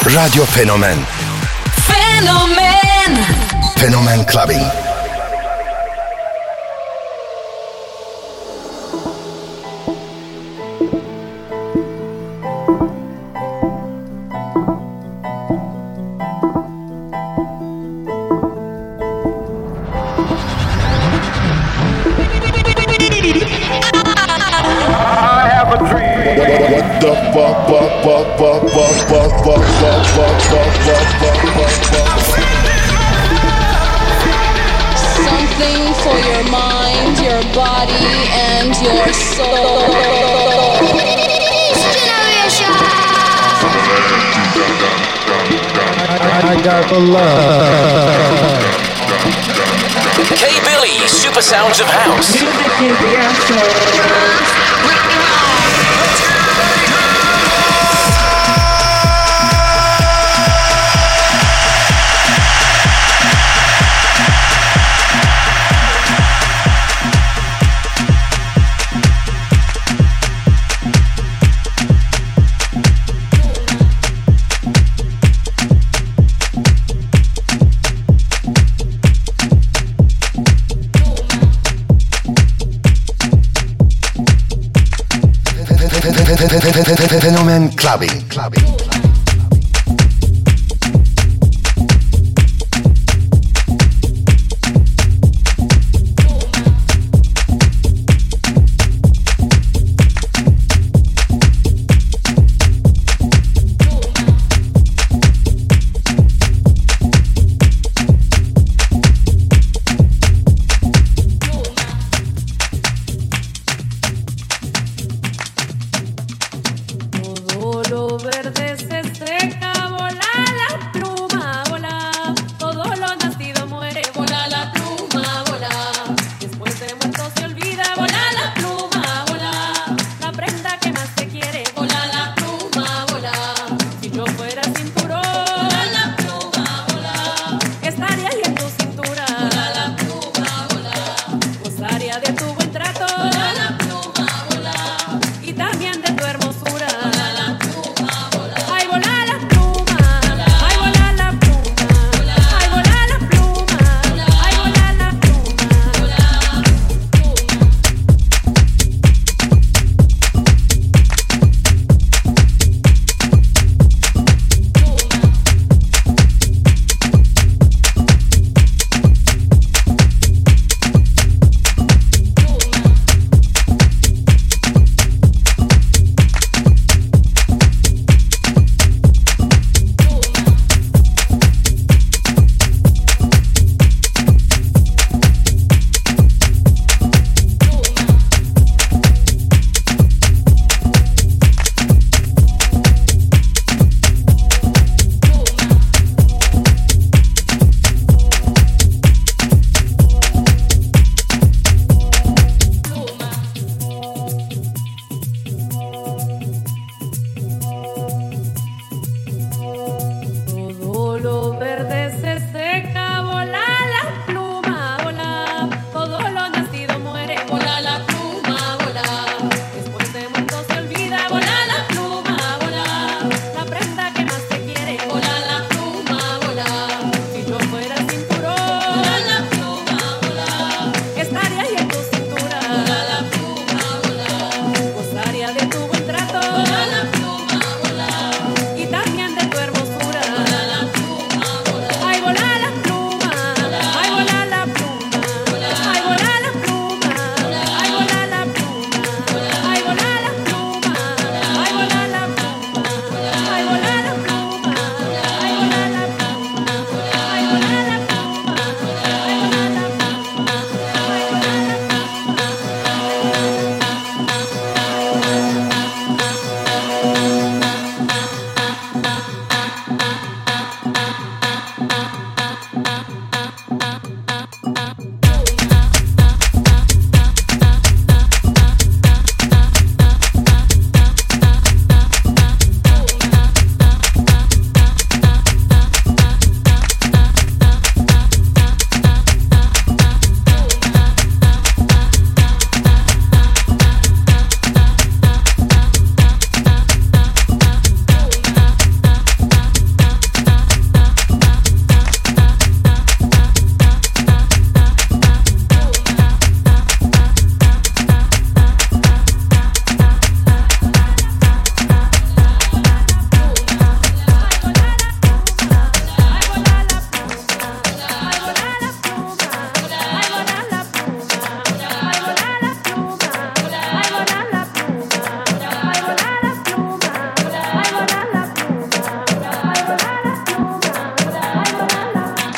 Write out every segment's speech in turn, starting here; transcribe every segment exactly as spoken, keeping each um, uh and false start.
Radyo Fenomen. Fenomen. Fenomen Clubbing. Something for your mind, your body, and your soul. I got the love. K Billy, Super Sounds of House. Fenomen Clubbing. Clubbing. Todo lo verde se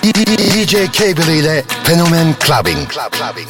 D J K-Billy ile Fenomen Clubbing. Club, clubbing.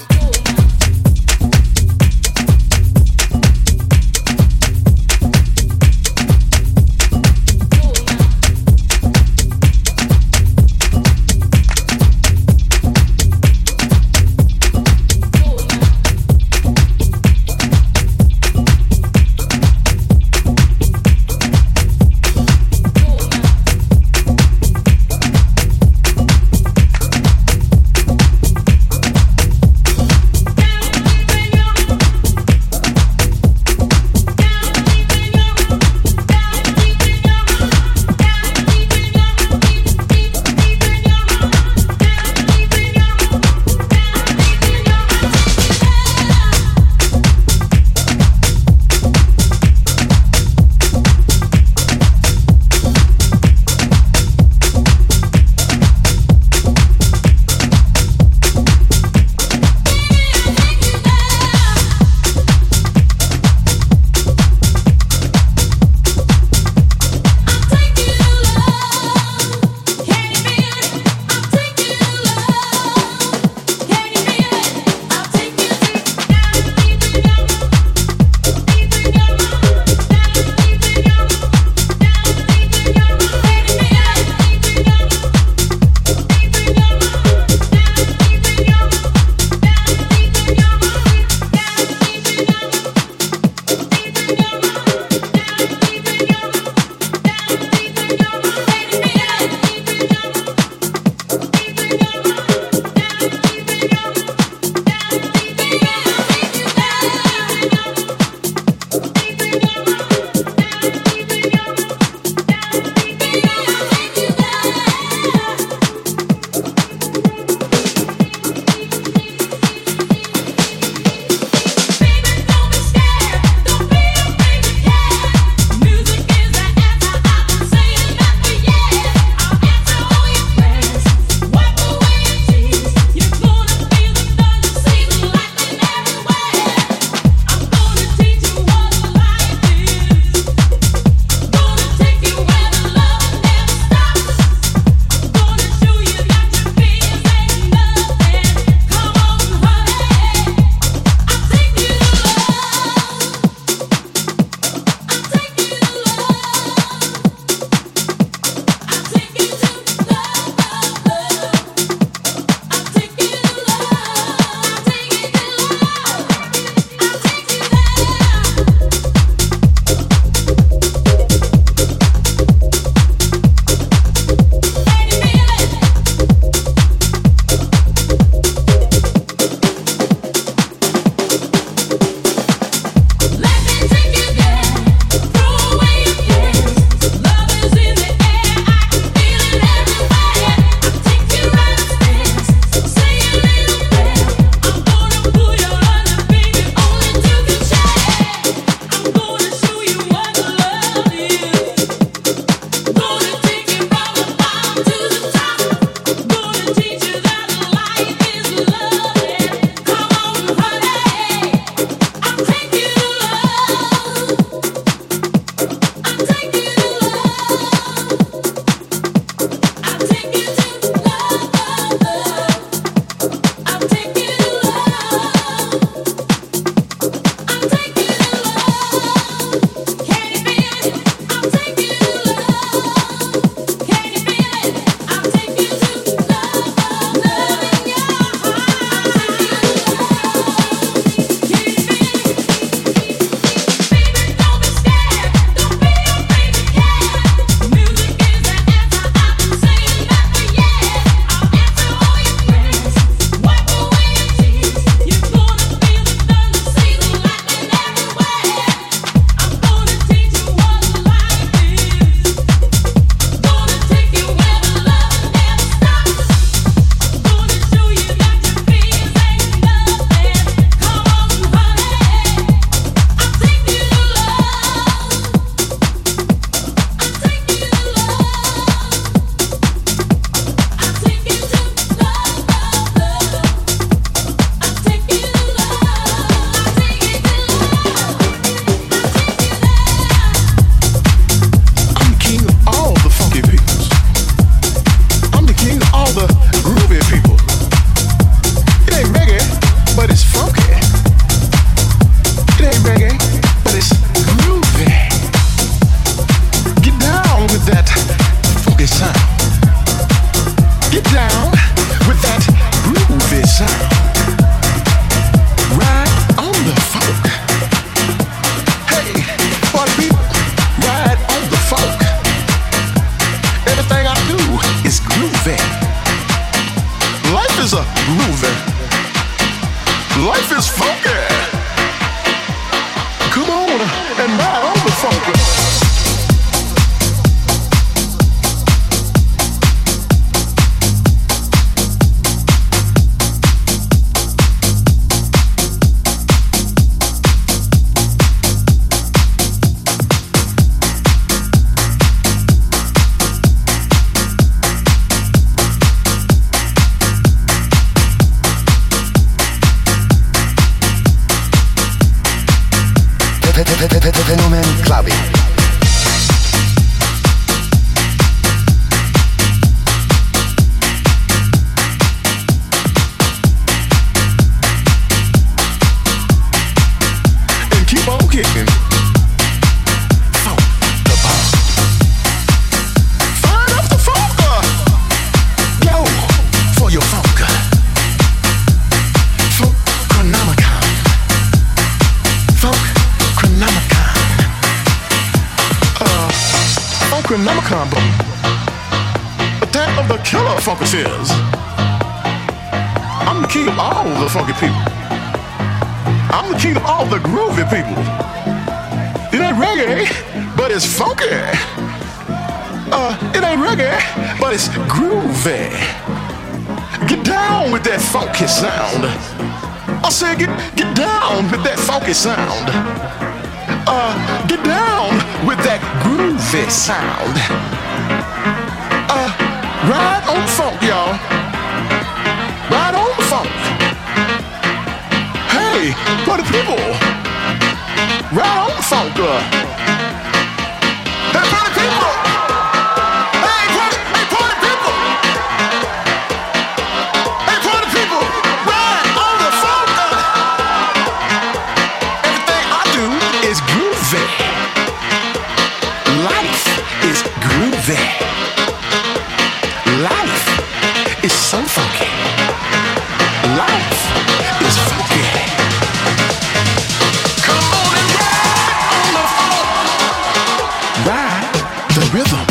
Everything I do is groovy. Life is a groovy. Life is funky. Come on and ride on the funky. Fenomen Clubbing. And keep on kicking. Funk the bar. Find up the funker. Yo, for your funker. Funk Chronomicon. Funk Chronomicon. Uh, Funk Chronomicon, bro. Attack of the killer funkers is. I'm the king of all the funky people. I'm the king of all the groovy people. It ain't reggae, but it's funky. Uh, it ain't reggae, but it's groovy. Get down with that funky sound. I say get get down with that funky sound. Uh, get down with that groovy sound. Uh, ride on funk, y'all. Ride on the funk. Hey, party people, ride on the funk. Uh. Hey, party people. Hey, party, hey, party people. Hey, party people, ride on the funk. Uh. Everything I do is groovy. Life is groovy. Life is so funky. Life is funky. Come on and ride on the funk. Ride the rhythm.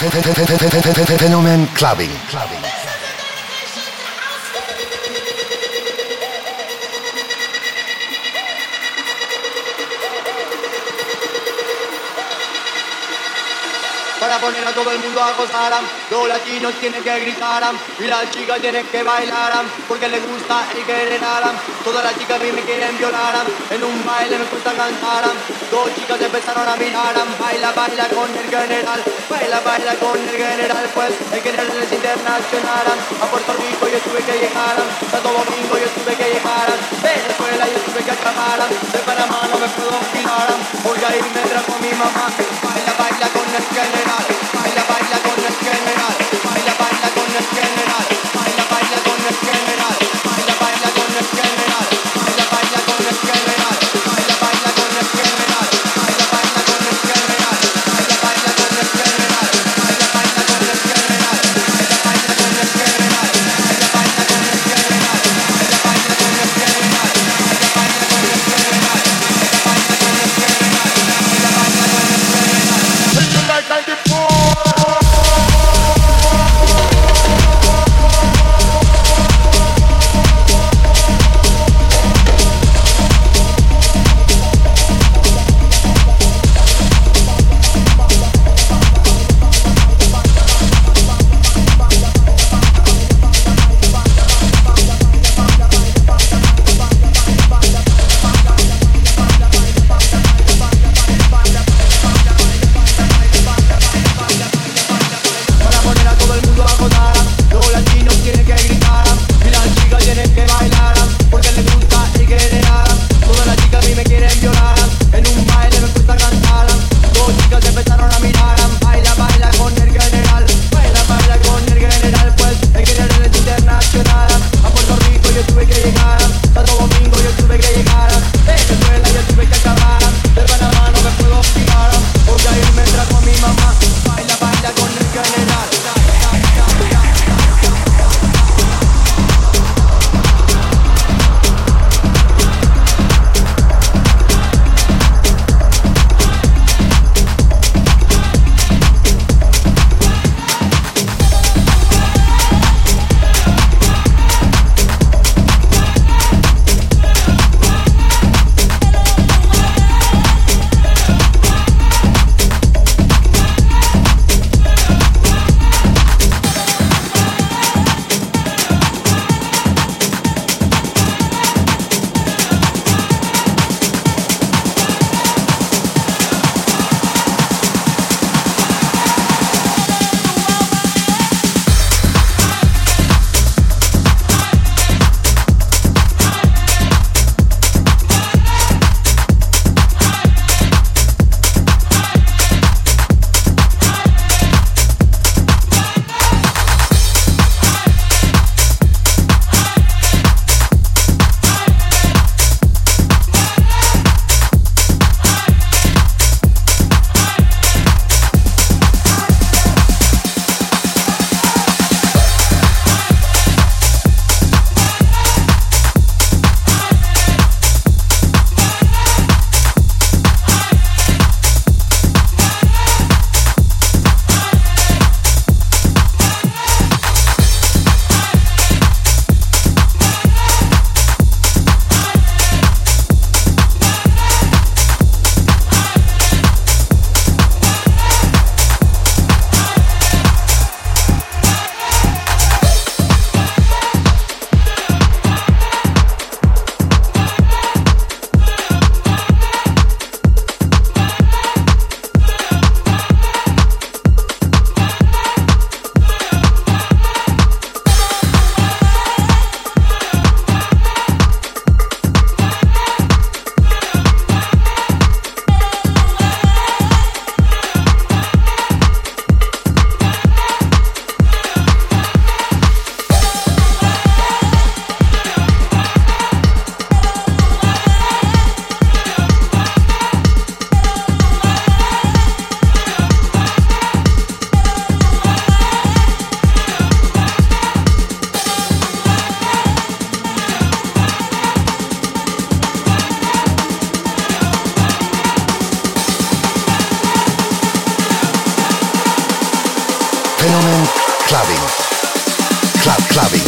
Fenomen Clubbing. Clubbing. Para poner a todo el mundo a gozar, los latinos tienen que gritar y las chicas tienen que bailar porque les gusta el general. Todas las chicas a mí me quieren violar, en un baile nos gusta cantar. Dos chicas empezaron a mirar, baila, baila con el general, baila, baila con el general, pues el general es internacional. A Puerto Rico yo tuve que llegar, a Santo Domingo yo tuve que llegar, Venezuela yo tuve que acabar, de Panamá no me puedo olvidar, porque ahí me trajo mi mamá. Baila, baila con el general, baila, baila con el general, baila, baila con el general, baila, baila con el general, baila, baila con el general, baila, baila con el general, baila, baila con el general, baila, baila con el general, baila, baila con el general, baila, baila con el general, baila, baila con el general, baila, baila con el general, baila, baila con el general, baila, baila con el general, baila, baila con el general, baila, baila con el general. Take it like ninety-four. clubbing. Club clubbing.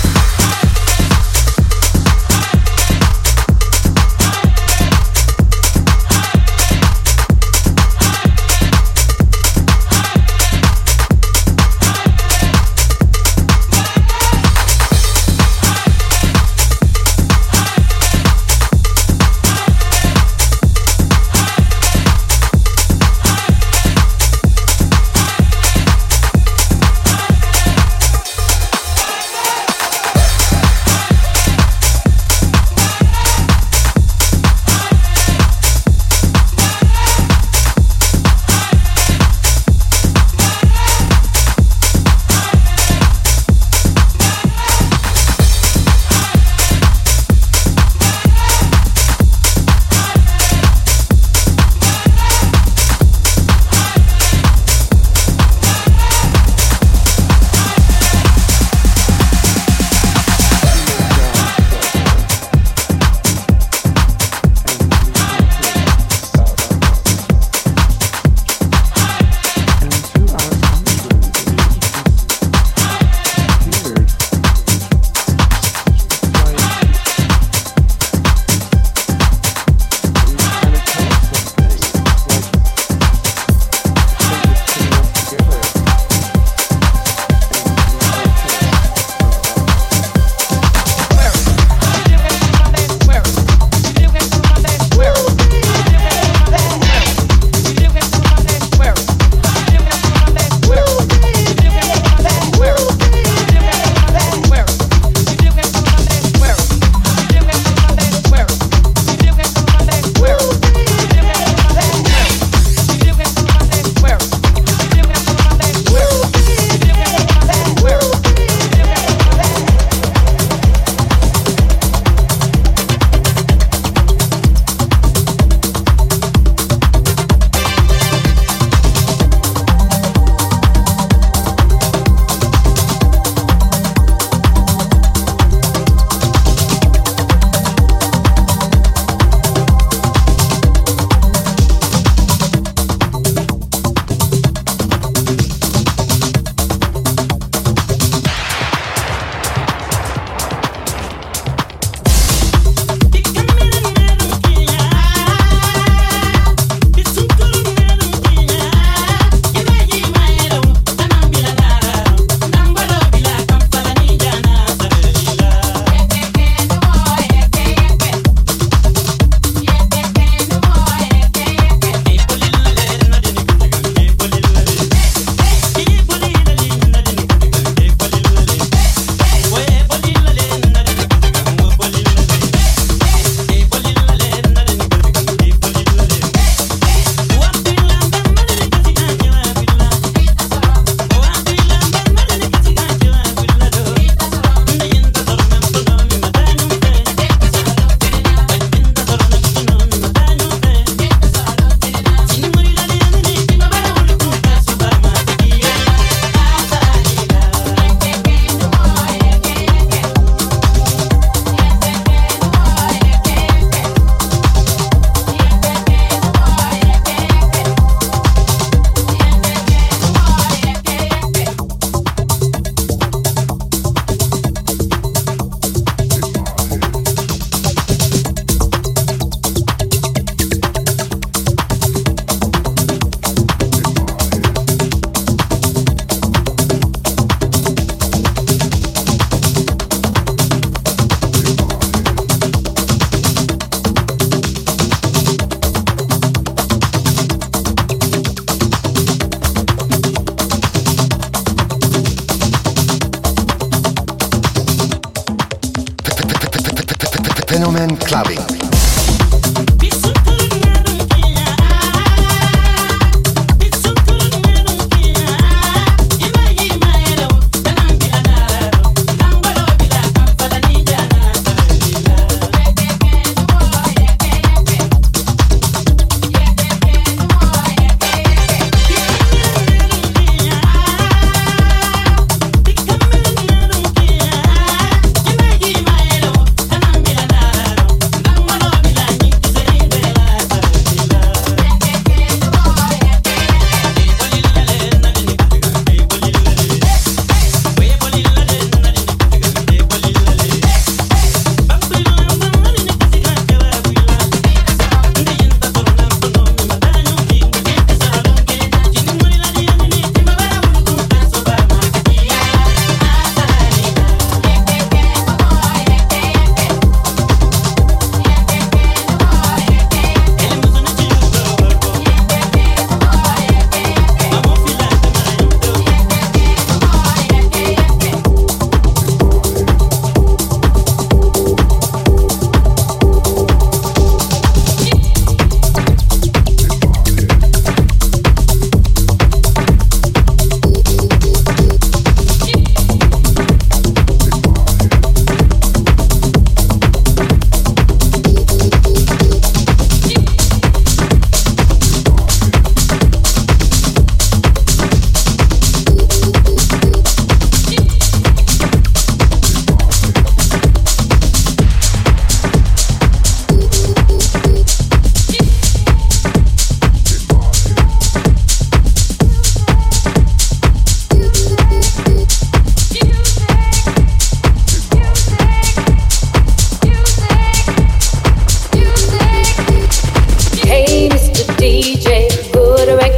Fenomen Clubbing. Bang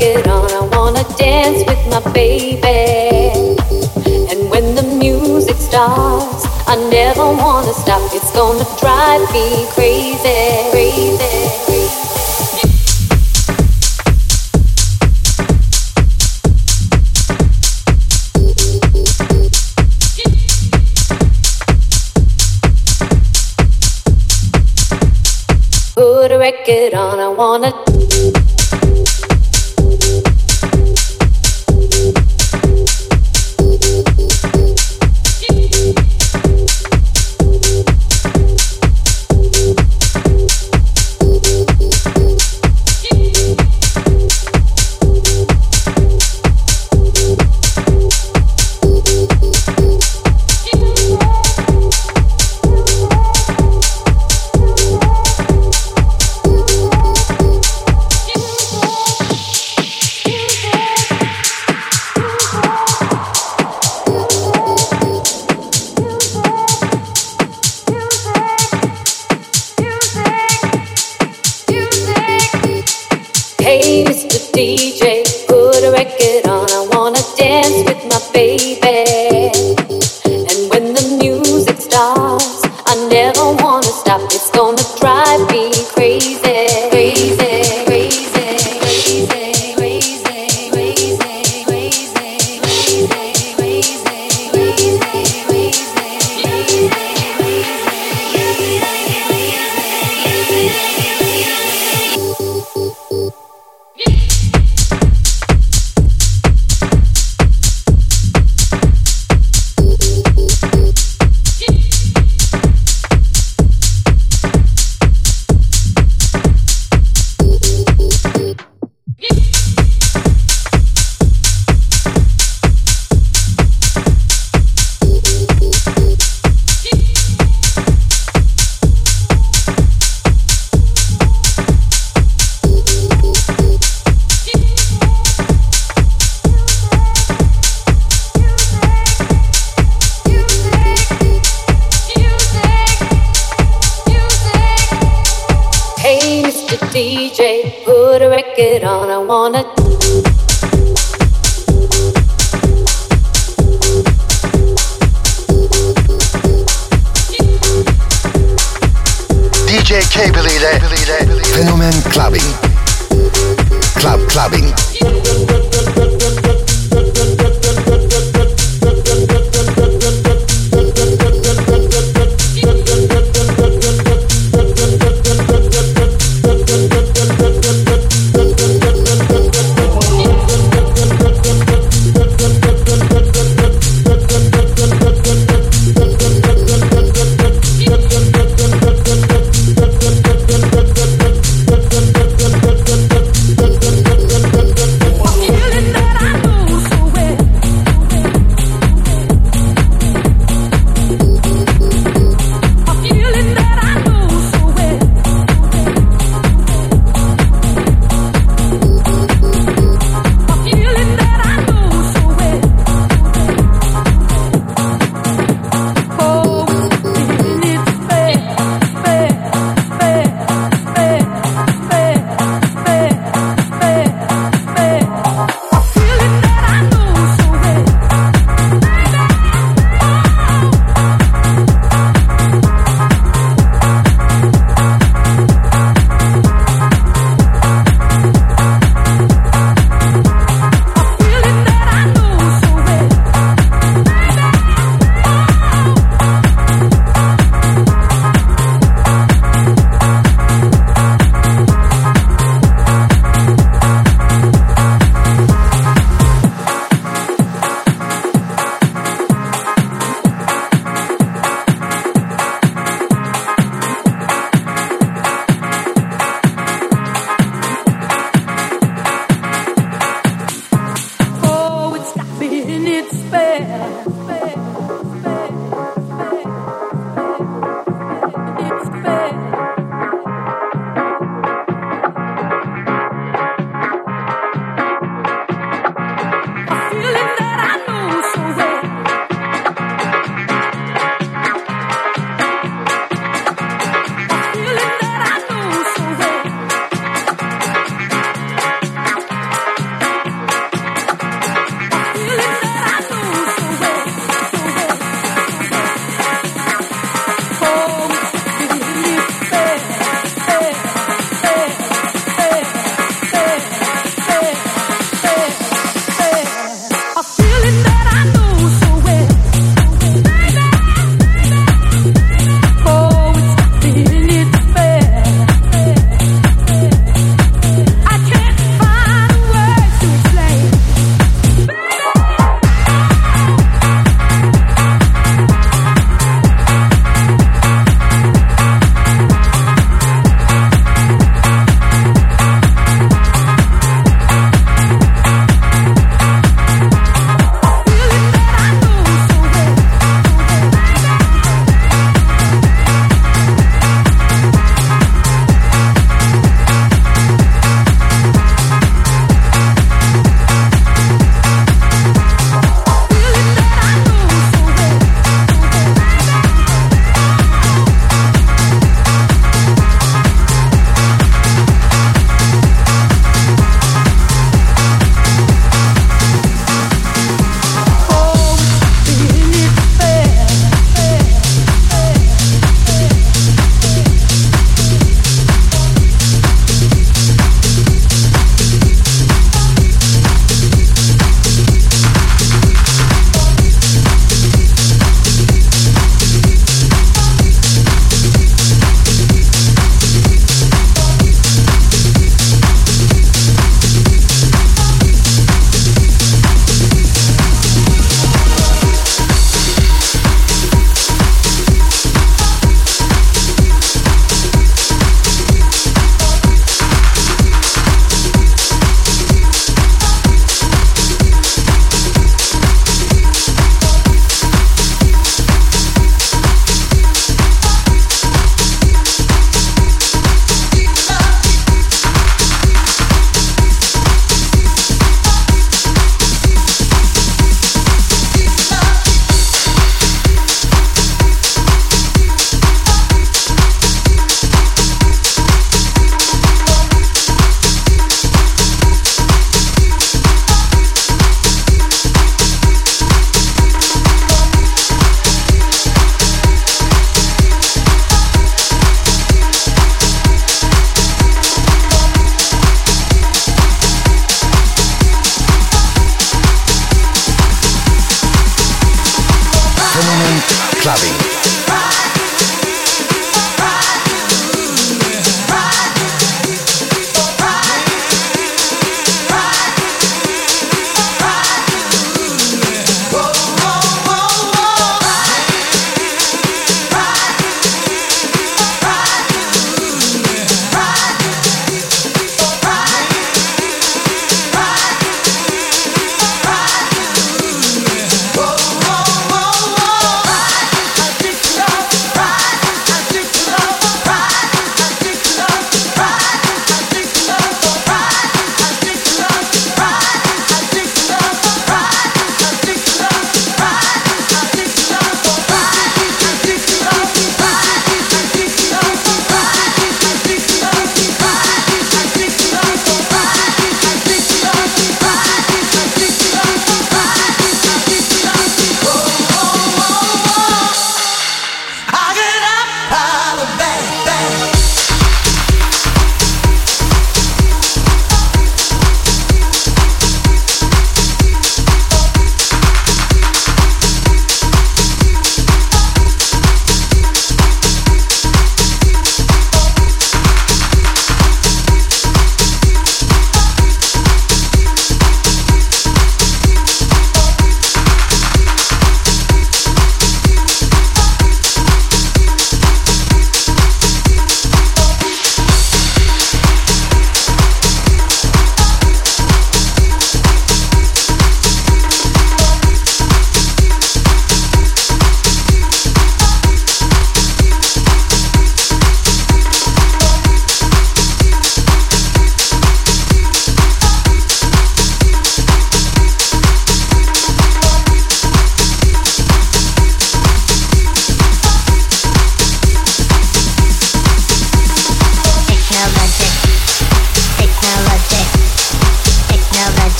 record on, I wanna dance with my baby. And when the music starts, I never wanna stop. It's gonna drive me crazy, crazy, crazy. Put a record on, I wanna. Hey, Mister D J, put a record on. I wanna dance with my baby. And when the music starts, I never wanna stop. It's gonna drive me crazy, crazy, crazy, crazy, crazy, crazy, crazy, crazy, crazy, Hey, Mister D J, put a record on. I wanna. D J Cable ile Fenomen Clubbing. Club Clubbing. We'll be right back.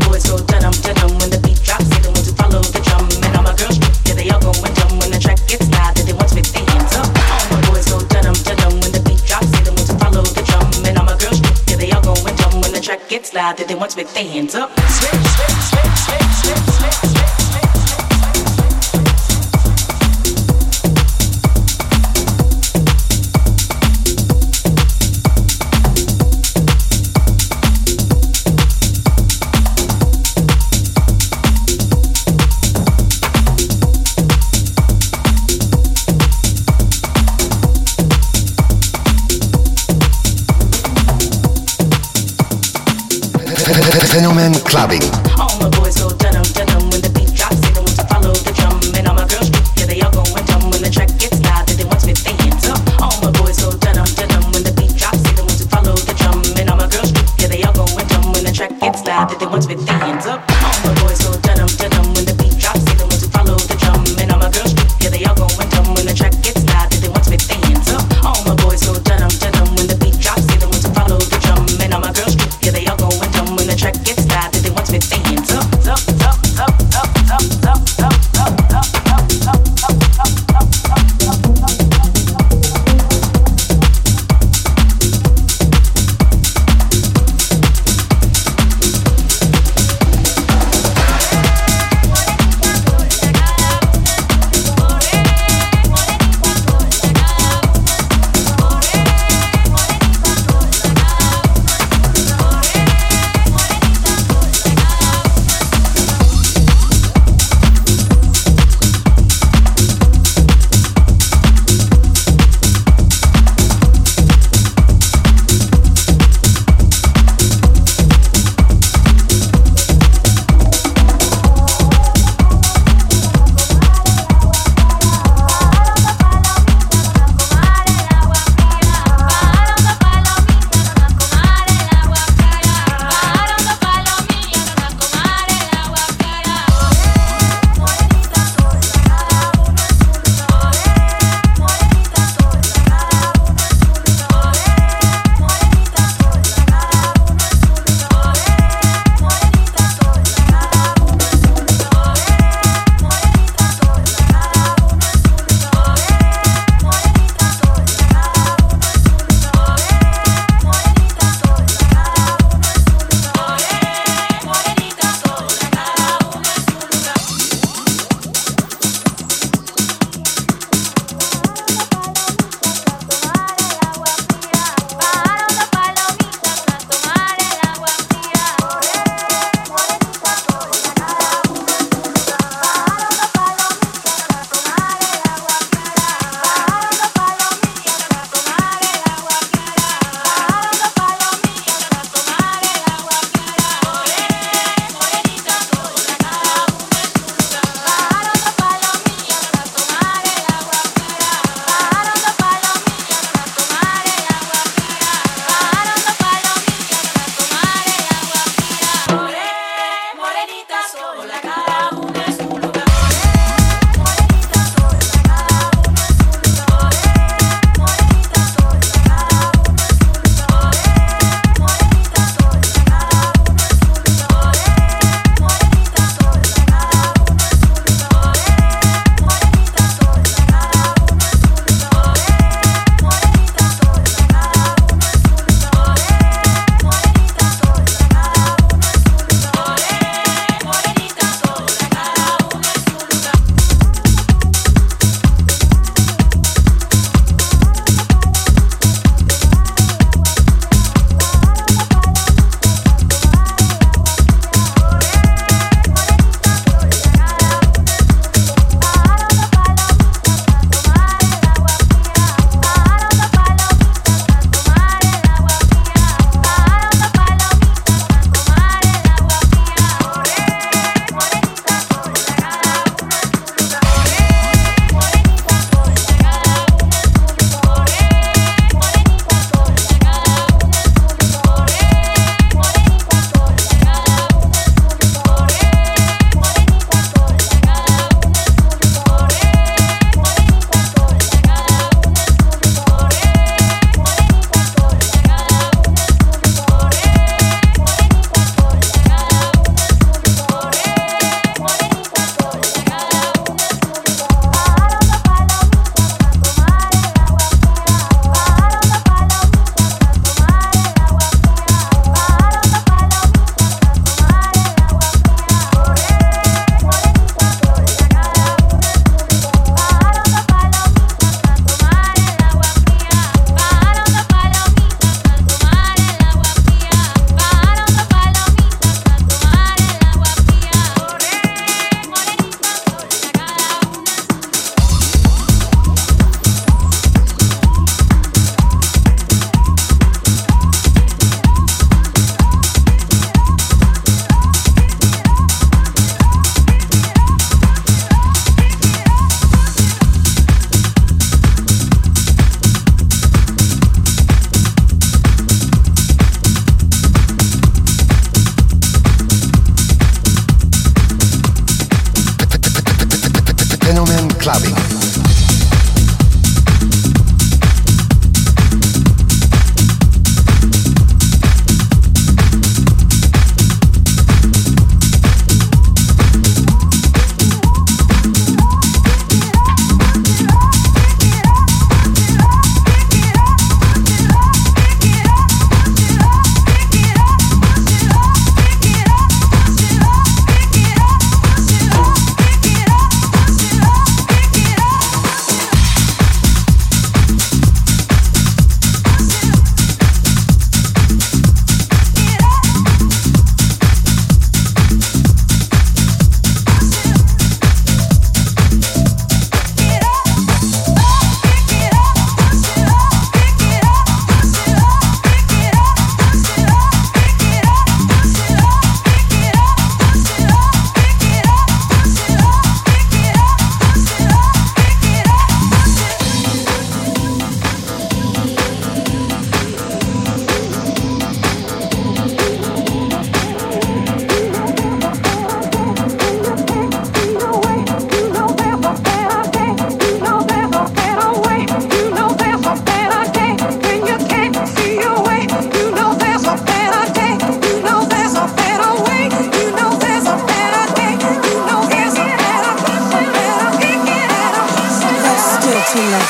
That they want with their hands up. Switch, switch, switch, switch, switch, switch, switch. Fenomen Clubbing. All my boys go dum dum when the beat drops. They don't want to follow the drum, and all my girls, yeah, they all going dumb when the track gets loud. They want to with their hands up. All my boys go dum dum when the beat drops. They don't want to follow the drum, and all my girls, yeah, they all going dumb when the track gets loud. They want to with their hands up. All my boys go dum dum when the beat drops. They don't want to follow the drum, and all my girls, yeah, they all going dumb when the track gets loud. They want to with their hands up. All my boys go dum dum when the beat drops. They don't want to follow the drum, and all my girls, yeah, they all going dumb when the track gets loud. They want to with their hands up, up, up, up, up, up, up, up, up, up, up,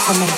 for me.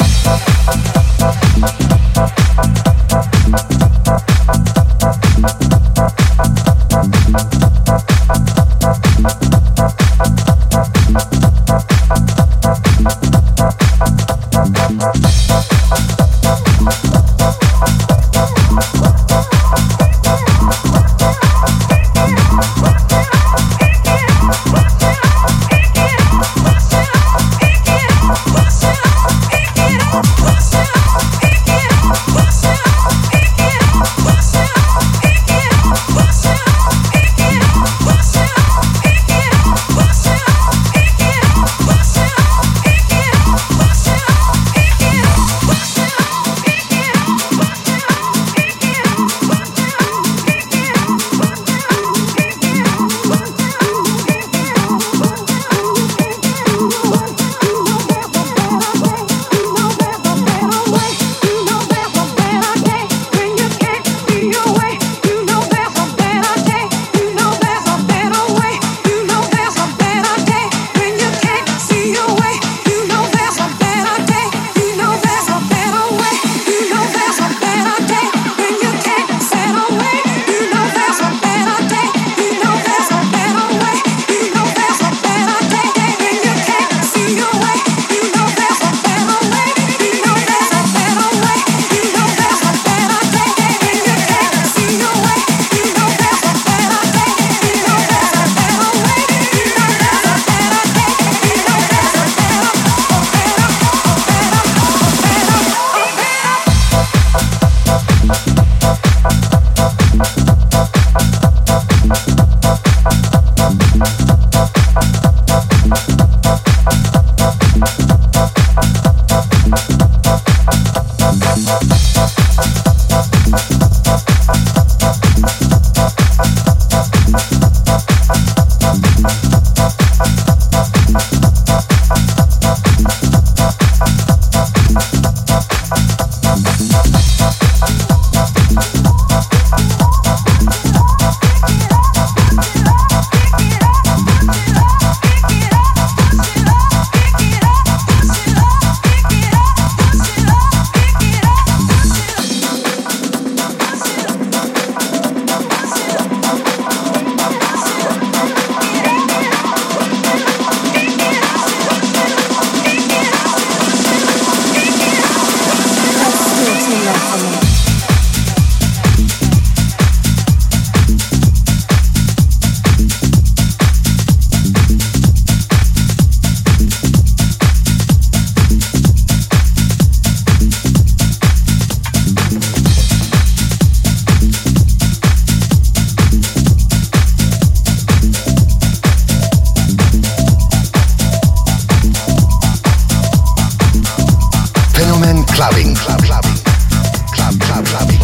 Clubbing, club, clubbing, club, club, clubbing.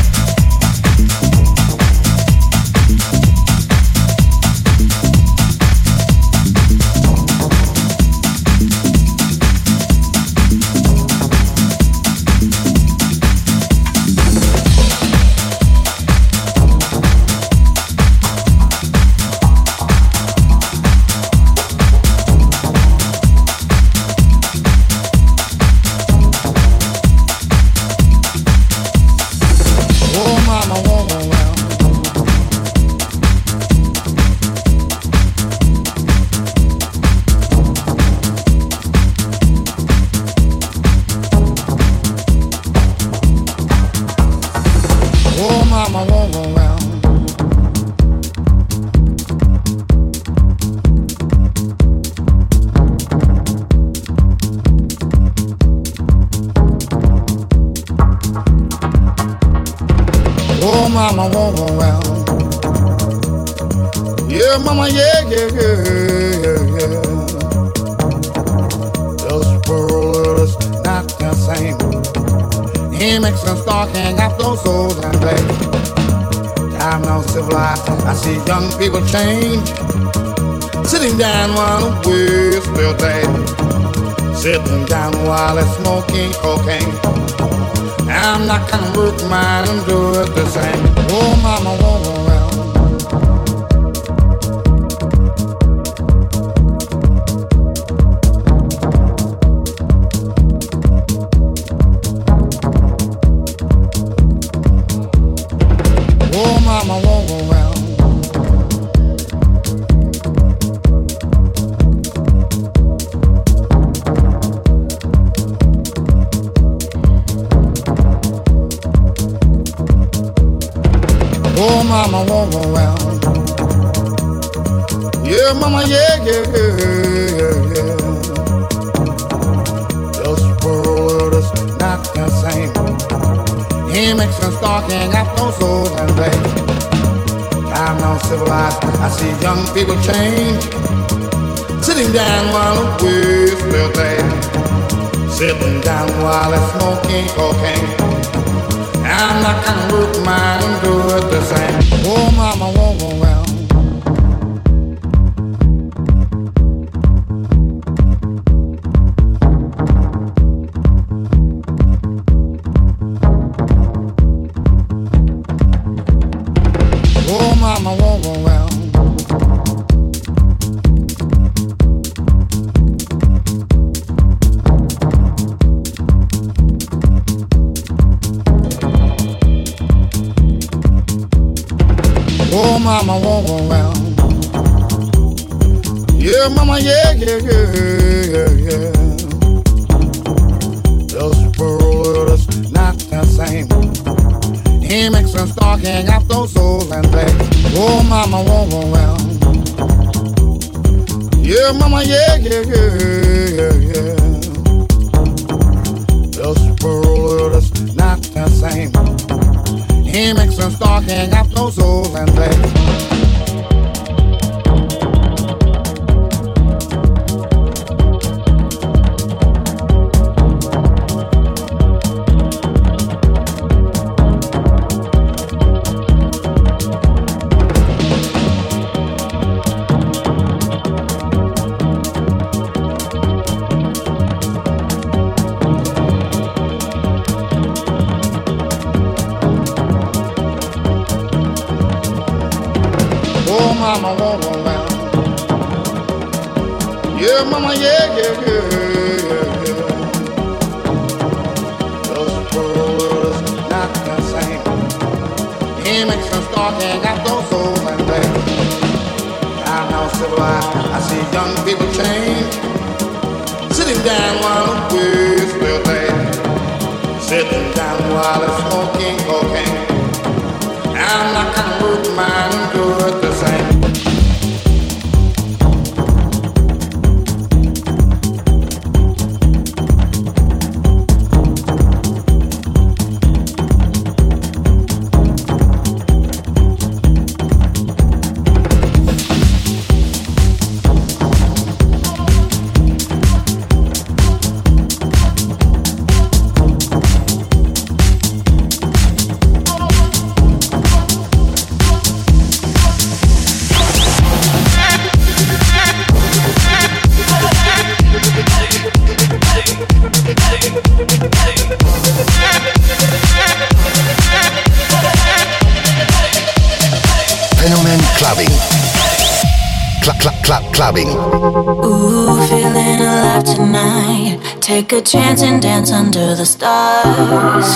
Mama won't go around. Yeah, mama, yeah, yeah, yeah, yeah, yeah. This world is not the same. He makes us talk, hang up those souls and play. I'm now civilized, I see young people change. Sitting down while the wheels still day. Sitting down while they're smoking cocaine. I'm not gonna work mine and do it the same. Oh, mama won't go around. mama, won't go well. Yeah, mama, yeah, yeah, yeah, yeah. This world is not the same. He makes us talk, ain't got no soul and play. I'm now civilized, I see young people change. Sitting down while we still there. Sitting down while they're smoking cocaine. I'm not gonna work mine and do it the same. Oh, mama, won't go well. Oh, mama, won't go well. Oh, mama, won't go well. Yeah, mama, yeah, yeah, yeah, yeah, yeah. This world is not the same. He makes us talk, ain't got those souls and play. Oh, mama, won't go well. Yeah, mama, yeah, yeah, yeah, yeah, yeah. This world is not the same. He makes us talk, ain't got no soul and play. Mama, won't go well. Yeah, mama, yeah, yeah, yeah, yeah, yeah. This world is not the same. He makes us talk, ain't got those souls and play. I'm now civilized, I see young people change. Sitting down while we're still there. Sitting down while they're smoking cocaine. I'm not gonna work mine and do it the same. Fenomen Clubbing. Club, club, club, clubbing. Ooh, feeling alive tonight. Take a chance and dance under the stars.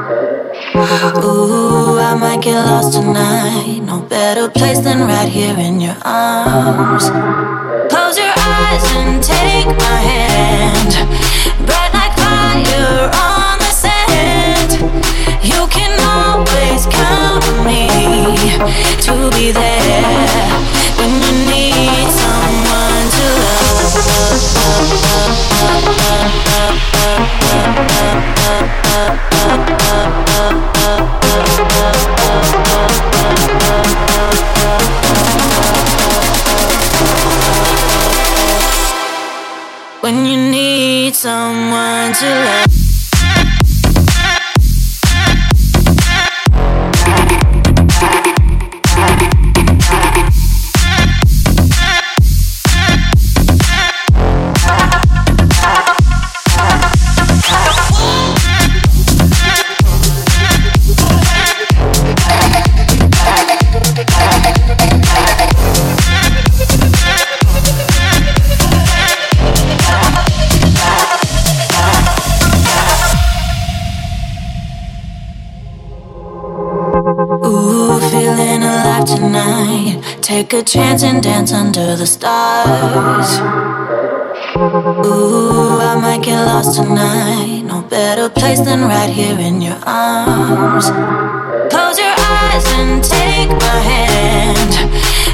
Ooh, I might get lost tonight. No better place than right here in your arms. Close your eyes and take my hand. Bright like fire on the sand. You can always count on me to be there when you need someone to love. When you need someone to love. Tonight, take a chance and dance under the stars. Ooh, I might get lost tonight. No better place than right here in your arms. Close your eyes eyes and take my hand.